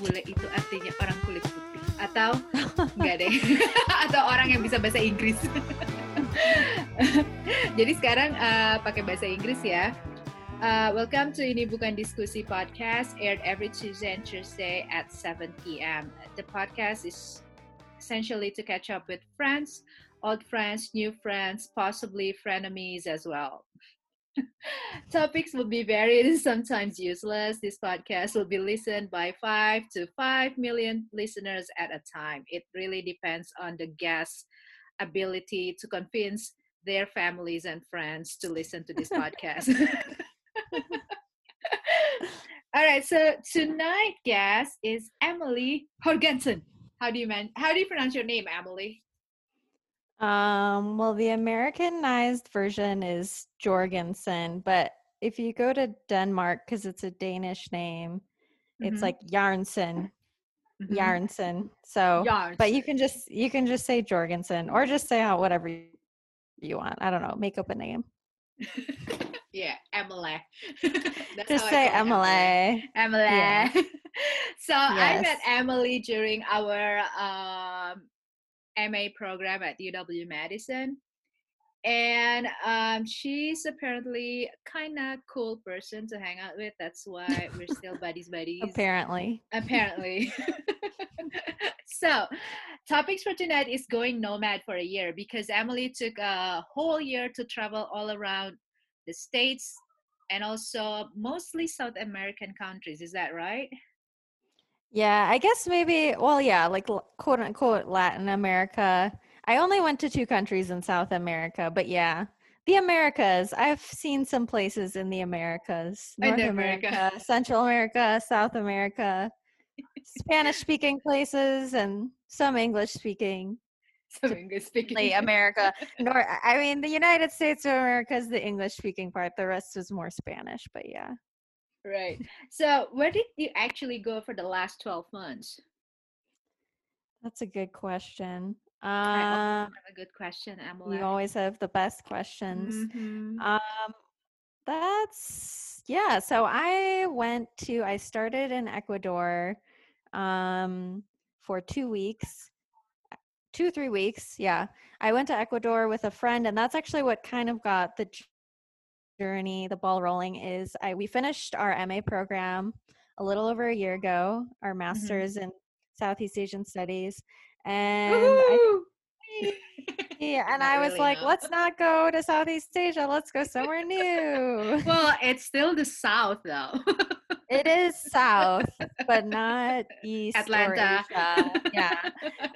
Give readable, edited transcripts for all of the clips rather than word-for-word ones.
bule itu artinya orang kulit putih atau enggak deh atau orang yang bisa bahasa Inggris. Jadi sekarang pakai bahasa Inggris ya. Welcome to Ini Bukan Diskusi podcast, aired every Tuesday and Thursday at 7 p.m. The podcast is essentially to catch up with friends, old friends, new friends, possibly frenemies as well. Topics will be varied and sometimes useless. This podcast will be listened by 5 to 5 million listeners at a time. It really depends on the guest's ability to convince their families and friends to listen to this podcast. All right, so tonight guest is Emily Jorgensen. How do you pronounce your name, Emily? Well, the Americanized version is Jorgensen, but if you go to Denmark, because it's a Danish name, it's like Jarnsen. Jarnsen. So, but you can just say Jorgensen or just say whatever you want. I don't know. Make up a name. Yeah, Emily. Just say Emily. Emily. Yeah. So yes. I met Emily during our MA program at UW-Madison. And she's apparently kind of cool person to hang out with. That's why we're still buddies. Apparently. So, topics for tonight is going nomad for a year because Emily took a whole year to travel all around the States and also mostly South American countries. Is that right? Yeah, I guess maybe, well, yeah, like quote unquote Latin America. I only went to 2 countries in South America, but yeah, the Americas. I've seen some places in the Americas. North America, Central America, South America, Spanish-speaking places, and some English-speaking. America. The United States of America is the English-speaking part. The rest is more Spanish, but yeah. Right. So where did you actually go for the last 12 months? That's a good question. I always have a good question, Emily. You always have the best questions. Mm-hmm. So I started in Ecuador for 2 weeks. 2-3 weeks. Yeah. I went to Ecuador with a friend, and that's actually what kind of got the journey, the ball rolling. We finished our MA program a little over a year ago, our master's in Southeast Asian Studies. And I was like, let's not go to Southeast Asia. Let's go somewhere new. Well, it's still the South, though. It is South, but not East Atlanta. Or Asia. Yeah.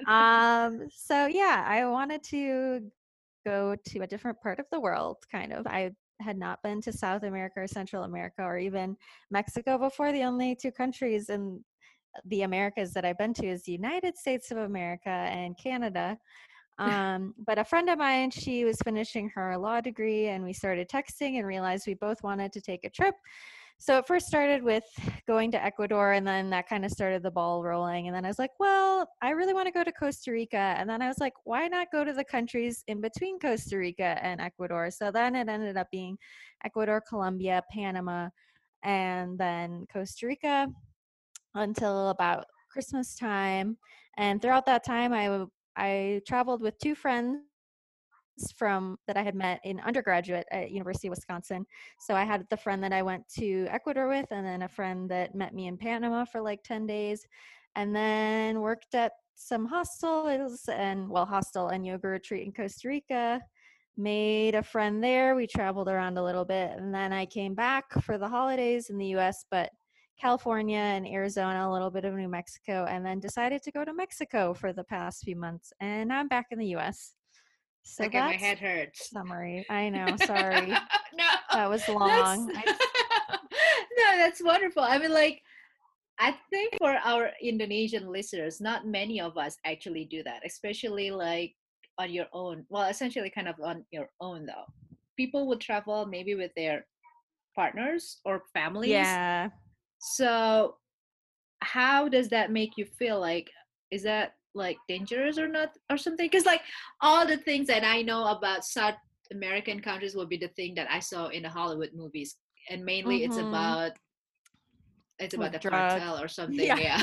I wanted to go to a different part of the world, kind of. I had not been to South America or Central America or even Mexico before. The only 2 countries in the Americas that I've been to is the United States of America and Canada. But a friend of mine, she was finishing her law degree, and we started texting and realized we both wanted to take a trip. So it first started with going to Ecuador, and then that kind of started the ball rolling. And then I was like, well, I really want to go to Costa Rica. And then I was like, why not go to the countries in between Costa Rica and Ecuador? So then it ended up being Ecuador, Colombia, Panama, and then Costa Rica until about Christmas time. And throughout that time, I traveled with 2 friends that I had met in undergraduate at University of Wisconsin. So I had the friend that I went to Ecuador with, and then a friend that met me in Panama for like 10 days, and then worked at some hostel and yoga retreat in Costa Rica. Made a friend there. We traveled around a little bit, and then I came back for the holidays in the US, but California and Arizona, a little bit of New Mexico, and then decided to go to Mexico for the past few months. And now I'm back in the US. So okay, my head hurts. Summary. I know. Sorry. No, that was long. No, that's wonderful. I mean, like, I think for our Indonesian listeners, not many of us actually do that, especially like on your own. Well, essentially kind of on your own, though. People would travel maybe with their partners or families. Yeah. So how does that make you feel? Like, is that like dangerous or not or something? Because like all the things that I know about South American countries will be the thing that I saw in the Hollywood movies, and mainly it's about it's about With the drugs. cartel or something. Yeah. Yeah.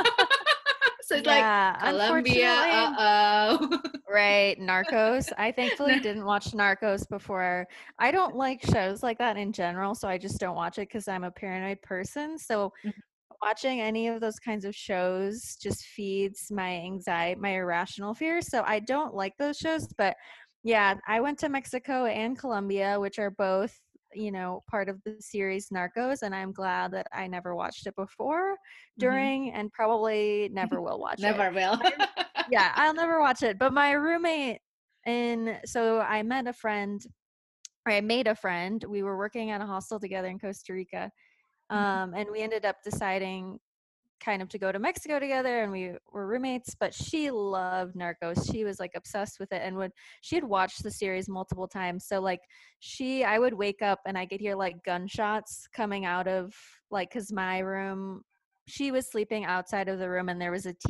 So it's like Yeah, Colombia. unfortunately. Uh-oh. Right, Narcos. I No. thankfully didn't watch Narcos before. I don't like shows like that in general, so I just don't watch it because I'm a paranoid person. So watching any of those kinds of shows just feeds my anxiety, my irrational fears. So I don't like those shows. But yeah, I went to Mexico and Colombia, which are both, part of the series Narcos. And I'm glad that I never watched it before, Mhm. during, and probably never will watch it. Never will. Yeah, I'll never watch it. But my roommate, so I met a friend, or I made a friend. We were working at a hostel together in Costa Rica. And we ended up deciding kind of to go to Mexico together, and we were roommates. But she loved Narcos. She was like obsessed with it, and she had watched the series multiple times. So like I would wake up and I could hear like gunshots coming out of, like, because my room, she was sleeping outside of the room and there was a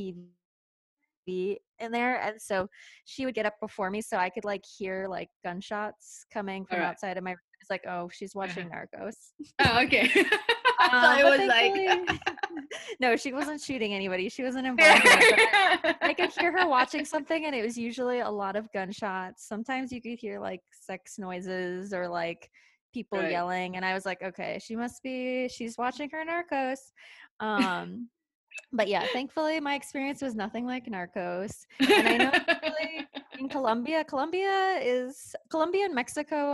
TV in there, and so she would get up before me so I could like hear like gunshots coming All from right. outside of my room. It's like, oh, she's Uh-huh. watching Narcos. Oh, okay. I thought it But was like thankfully, no, she wasn't shooting anybody. She wasn't involved in it. But I could hear her watching something, and it was usually a lot of gunshots. Sometimes you could hear like sex noises or like people right. yelling, and I was like, okay, she's watching her Narcos. Um, but yeah, thankfully my experience was nothing like Narcos. And I know actually in Colombia and Mexico,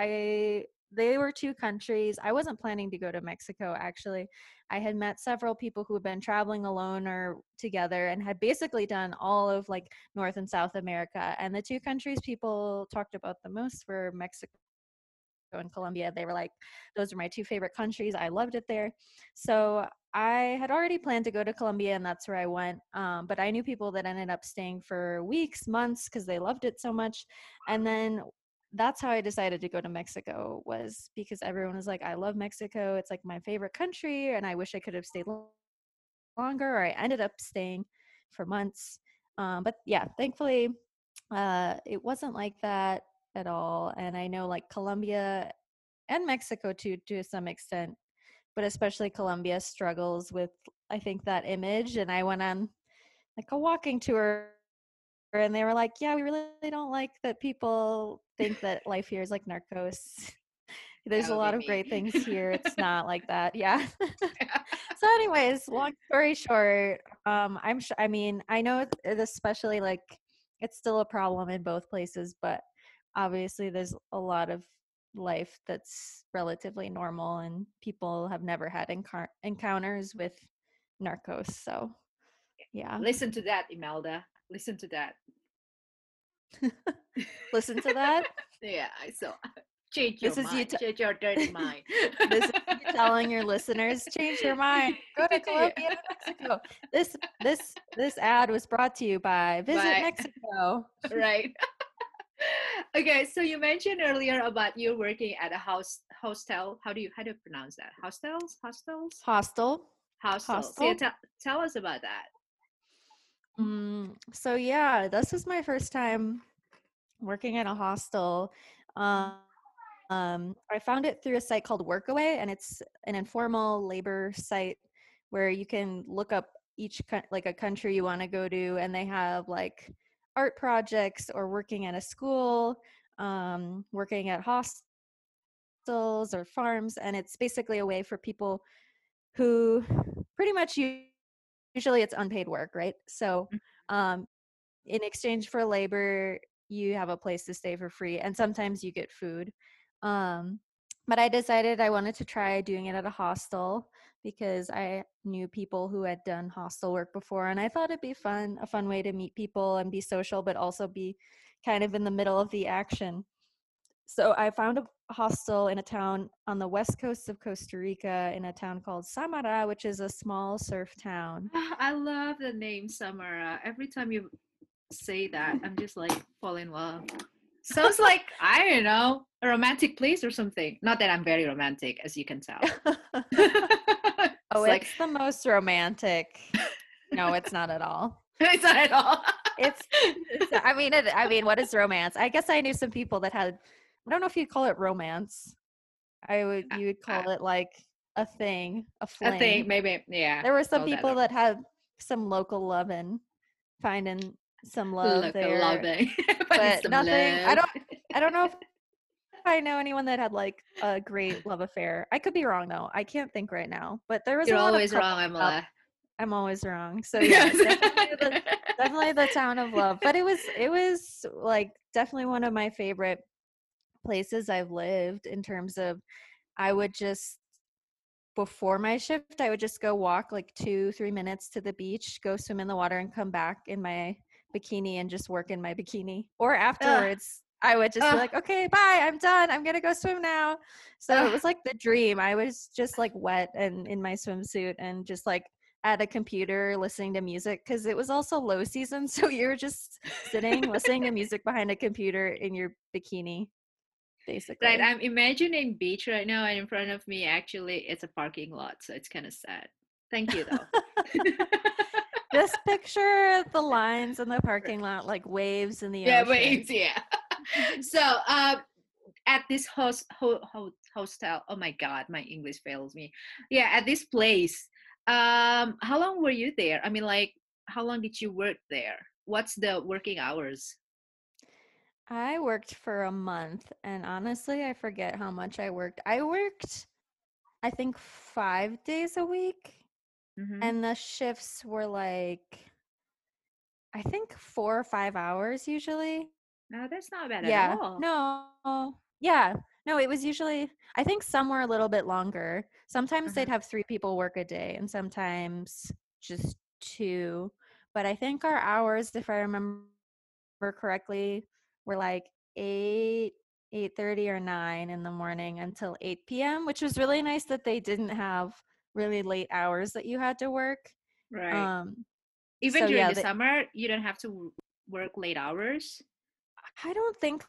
they were two countries. I wasn't planning to go to Mexico actually. I had met several people who had been traveling alone or together and had basically done all of like North and South America. And the two countries people talked about the most were Mexico and Colombia. They were like, those are my two favorite countries. I loved it there. So I had already planned to go to Colombia, and that's where I went. But I knew people that ended up staying for weeks, months, because they loved it so much. And then that's how I decided to go to Mexico, was because everyone was like, I love Mexico. It's like my favorite country, and I wish I could have stayed longer, or I ended up staying for months. But yeah, thankfully, it wasn't like that at all. And I know like Colombia and Mexico too, to some extent, but especially Colombia struggles with, I think, that image. And I went on like a walking tour, and they were like, yeah, we really don't like that people think that life here is like Narcos. There's That a would lot be of great me. things here. It's not like that. Yeah. So anyways, long story short, I mean, I know especially like it's still a problem in both places, but obviously there's a lot of life that's relatively normal, and people have never had encounters with Narcos. So yeah. Listen to that, Imelda. Listen to that. Listen to that. Yeah, so change your This is you mind. Change your dirty mind. This is you telling your listeners, change your mind. Go to Yeah. Colombia and Mexico. This ad was brought to you by Visit But Mexico. right. Okay, so you mentioned earlier about you working at a hostel. How do you pronounce that? Hostel. Hostels. Yeah, Hostel. tell us about that. So yeah, this was my first time working at a hostel. I found it through a site called Workaway, and it's an informal labor site where you can look up like a country you want to go to, and they have like art projects or working at a school, working at hostels or farms, and it's basically a way for people who pretty much usually it's unpaid work, right? So um, in exchange for labor, you have a place to stay for free, and sometimes you get food. Um, but I decided I wanted to try doing it at a hostel because I knew people who had done hostel work before, and I thought it'd be a fun way to meet people and be social, but also be kind of in the middle of the action. So I found a hostel in a town on the west coast of Costa Rica, in a town called Samara, which is a small surf town. I love the name Samara. Every time you say that, I'm just like fall in love. Sounds like, I don't know, a romantic place or something. Not that I'm very romantic, as you can tell. Oh, It's like it's the most romantic. No, it's not at all. it's not at all. I mean, what is romance? I guess I knew some people that had, I don't know if you'd call it romance. You would I, call it like a thing, a I fling. think maybe, yeah, There were some call that people that had some local love and finding some love look there, loving, finding but some nothing. love. I don't know if I know anyone that had like a great love affair. I could be wrong though. I can't think right now, but there was You're a lot of always wrong, couples up. Amala. I'm always wrong. So yeah, definitely the town of love. But it was like definitely one of my favorite places I've lived in terms of I would just before my shift, I would just go walk like 2-3 minutes to the beach, go swim in the water, and come back in my bikini and just work in my bikini. Or Ugh, afterwards, I would just be ugh, like, okay, bye, I'm done. I'm going to go swim now. So it ugh. was like the dream. I was just like wet and in my swimsuit and just like at a computer listening to music because it was also low season. So you're just sitting, listening to music behind a computer in your bikini, Right, basically. I'm imagining beach right now, and in front of me, actually, it's a parking lot, so it's kind of sad. Thank you, though. Just picture the lines in the parking lot like waves in the Yeah, ocean. waves, yeah. So, at this hostel, oh my God, my English fails me. Yeah, at this place, how long were you there? I mean, like, how long did you work there? What's the working hours? I worked for a month and honestly, I forget how much I worked. I worked, I think, 5 days a week Mm-hmm. and the shifts were like, I think 4 or 5 hours usually. No, that's not bad at Yeah. all. No. Yeah. No, it was usually, I think some were a little bit longer. Sometimes Uh-huh. they'd have 3 people work a day and sometimes just two. But I think our hours, if I remember correctly, were like 8, 8:30 or 9 in the morning until 8 p.m., which was really nice that they didn't have really late hours that you had to work. Right. Um, Even so during yeah, the summer, you don't have to work late hours. I don't think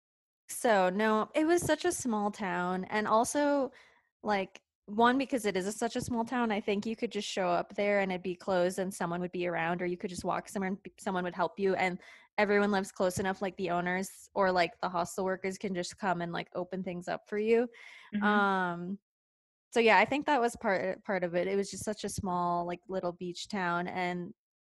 so. No, it was such a small town. And also, like, one, because it is such a small town, I think you could just show up there and it'd be closed and someone would be around, or you could just walk somewhere and someone would help you. And everyone lives close enough, like the owners or like the hostel workers can just come and like open things up for you. Mm-hmm. Um, so yeah, I think that was part of it. It was just such a small, like little beach town, and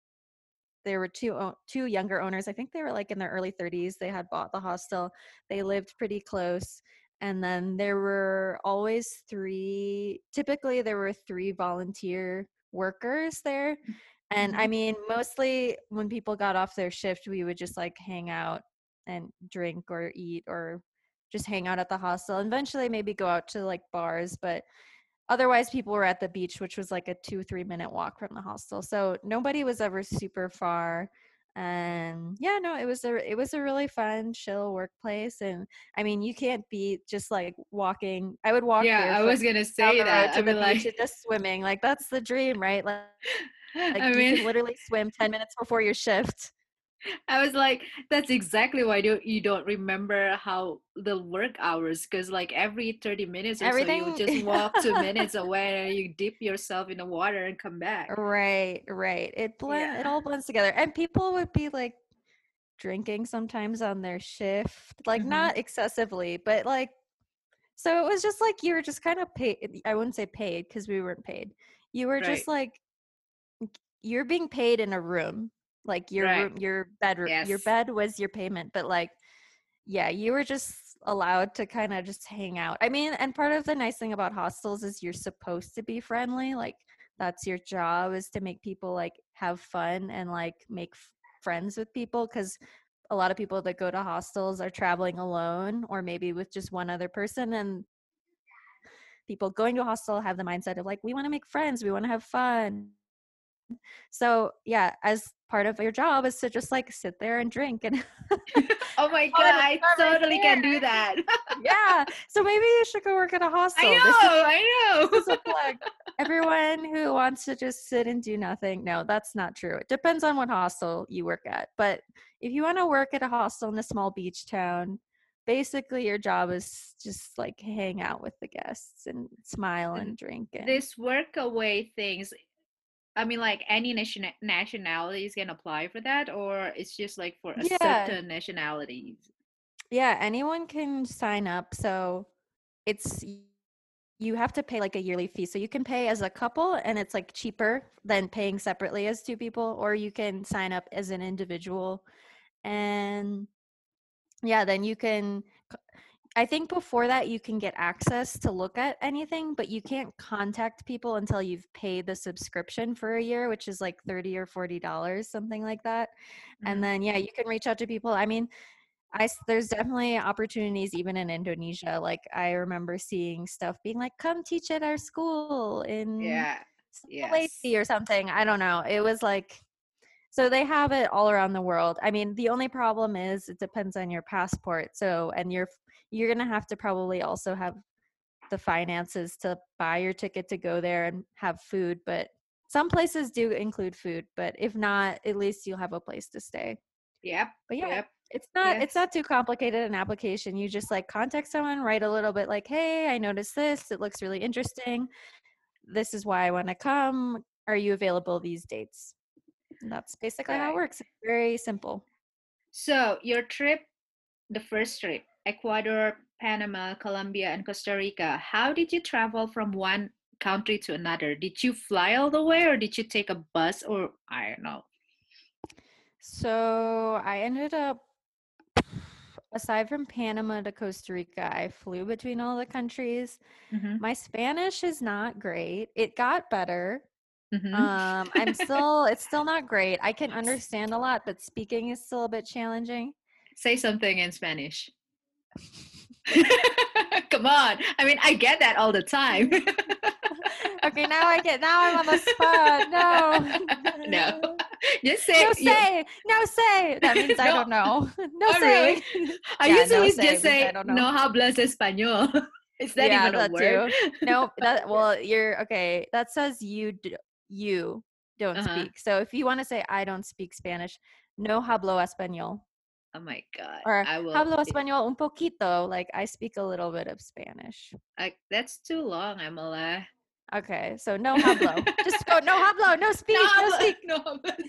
there were two younger owners. I think they were like in their early 30s. They had bought the hostel. They lived pretty close. And then there were always typically there were three volunteer workers there. And I Mm-hmm. mean, mostly when people got off their shift, we would just like hang out and drink or eat or just hang out at the hostel. Eventually maybe go out to like bars, but otherwise people were at the beach, which was like a 2-3 minute walk from the hostel, so nobody was ever super far. And yeah, no, it was a really fun chill workplace. And I mean, you can't beat just like walking. I would walk Yeah, I barefoot was gonna down say the road that. I to the mean, beach like, and just swimming. Like that's the dream, right? Like I you mean, can literally swim 10 minutes before your shift. I was like, that's exactly why you don't remember how the work hours, because like every 30 minutes or so, you Everything. just walk 2 minutes away and you dip yourself in the water and come back. Right. It Yeah. all blends together. And people would be like drinking sometimes on their shift, like Mm-hmm. not excessively, but like, so it was just like you were just kind of paid. I wouldn't say paid because we weren't paid. You were Right. just like, you're being paid in a room, like Right. your bedroom, your Yes. bed was your payment, but like, yeah, you were just allowed to kind of just hang out. I mean, and part of the nice thing about hostels is you're supposed to be friendly. Like that's your job, is to make people like have fun and like make friends with people, because a lot of people that go to hostels are traveling alone or maybe with just one other person. And people going to a hostel have the mindset of like, we want to make friends, we want to have fun. So yeah, as part of your job is to just like sit there and drink and Oh my God, fun with I whoever's totally there. can do that. Yeah. So maybe you should go work at a I hostel. know, This I is a know. plug. Everyone who wants to just sit and do nothing. No, that's not true. It depends on what hostel you work at. But if you want to work at a hostel in a small beach town, basically your job is just like hang out with the guests and smile And and drink and this work away things, I mean, like any nationalities can apply for that, or it's just like for a yeah. certain nationalities. Yeah, anyone can sign up. So it's you have to pay like a yearly fee. So you can pay as a couple and it's like cheaper than paying separately as two people, or you can sign up as an individual. And yeah, then you can, I think before that you can get access to look at anything, but you can't contact people until you've paid the subscription for a year, which is like $30 or $40, something like that. And Mhm. then yeah, you can reach out to people. I mean, there's definitely opportunities even in Indonesia. Like I remember seeing stuff being like, come teach at our school in Yeah. Yes. Sulawesi or something. I don't know. It was like, so they have it all around the world. I mean, the only problem is it depends on your passport. So, and you're going to have to probably also have the finances to buy your ticket to go there and have food, but some places do include food, but if not, at least you'll have a place to stay. Yep. But yeah, Yep. it's Yes. not too complicated an application. You just like contact someone, write a little bit like, "Hey, I noticed this. It looks really interesting. This is why I want to come. Are you available these dates?" And that's basically how it Right. works. It's very simple. So your trip, the first trip, Ecuador, Panama, Colombia, and Costa Rica. How did you travel from one country to another? Did you fly all the way, or did you take a bus, or I don't know? So I ended up, aside from Panama to Costa Rica, I flew between all the countries. Mm-hmm. My Spanish is not great. It got better. Mm-hmm. It's still not great. I can understand a lot, but speaking is still a bit challenging. Say something in Spanish. Come on. I mean, I get that all the time. Okay, now I'm on the spot. No. No. Just say No say. That means I no. don't know. No Oh, really? say. I Yeah, no usually say just means I say don't know. no hablas español. Is that Yeah, even a that word? too. No, that well, you're okay. That says you don't Uh-huh. speak. So if you want to say I don't speak Spanish, no hablo español. Oh my God. Or I will. hablo español un poquito, like I speak a little bit of Spanish. That's too long, Amala. Okay, so no hablo. Just go no hablo, no No speak, no hablas. speak. No hablas.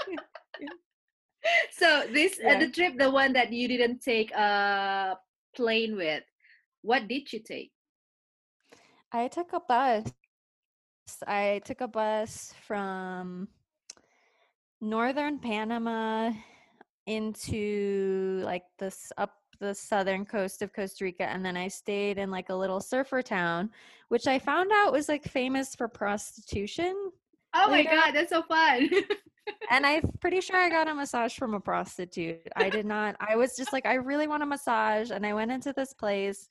So this Yeah. the trip, the one that you didn't take a plane with. What did you take? I took a bus. I took a bus from northern Panama into like this up the southern coast of Costa Rica, and then I stayed in like a little surfer town, which I found out was like famous for prostitution Oh my later on. God, that's so fun. And I'm pretty sure I got a massage from a prostitute. I did not. I was just like, I really want a massage, and I went into this place,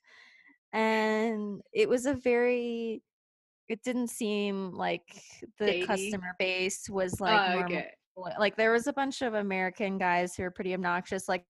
and it was a very. It didn't seem like the Shady. customer base was like Oh, normal. okay. Like there was a bunch of American guys who were pretty obnoxious, like,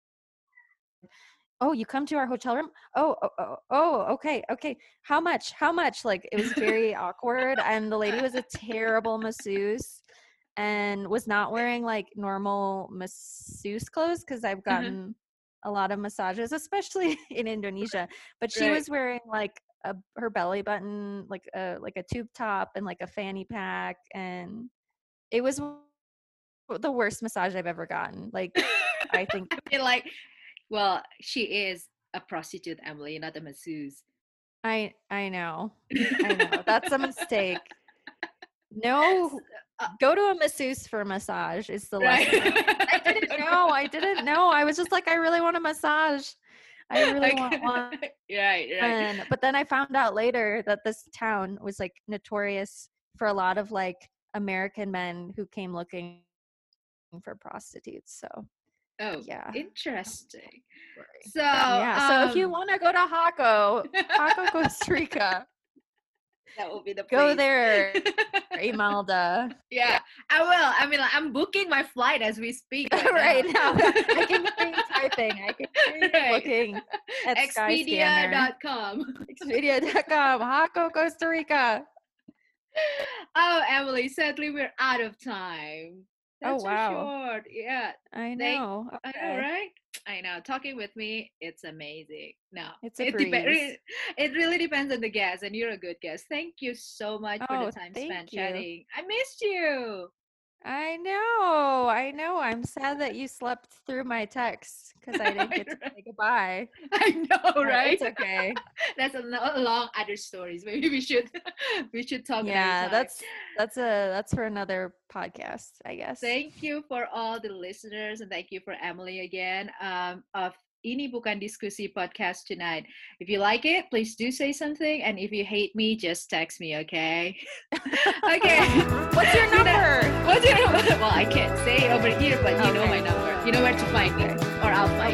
"Oh, you come to our hotel room? Oh, okay, okay. How much? How much?" Like it was very awkward, and the lady was a terrible masseuse and was not wearing like normal masseuse clothes because I've Uh-huh. gotten a lot of massages, especially in Indonesia. But she Right. was wearing like her belly button, like a tube top and like a fanny pack, and it was the worst massage I've ever gotten. Like I think I mean, like, well, she is a prostitute, Emily, not a masseuse. I know. I know. That's a mistake. S- No, uh, go to a masseuse for a massage is the right. lesson. I didn't know. I didn't know. I was just like, I really want a massage. I really want Okay. one. Right, right. But then I found out later that this town was like notorious for a lot of like American men who came looking for prostitutes. So Oh, yeah. interesting. Story. So, Yeah. So if you want to go to Jaco, Costa Rica, that will be the go place. there, Imelda. Yeah, I will. I mean, like, I'm booking my flight as we speak right Right now. now. I can hear you typing. I can hear you Right. looking at Skyscanner. Expedia.com. Expedia.com, Jaco, Costa Rica. Oh, Emily, sadly we're out of time. Oh, That's so wow. short. Yeah. I Thank know. I know, Okay. right? I know. Talking with me, it's amazing. No, It's a it breeze. it really depends on the guest, and you're a good guest. Thank you so much for the Oh, time spent thank you. chatting. I missed you. I know. I'm sad that you slept through my text because I didn't get to say goodbye. I know, But right? it's okay. That's a long other stories. Maybe we should talk another Yeah, time. that's for another podcast, I guess. Thank you for all the listeners, and thank you for Emily again of Ini Bukan Diskusi podcast tonight. If you like it, please do say something, and if you hate me, just text me, okay? Okay. What's your number? What's your number? Well, I can't say it over here, but you know Okay. my number. You know where to find me, or I'll find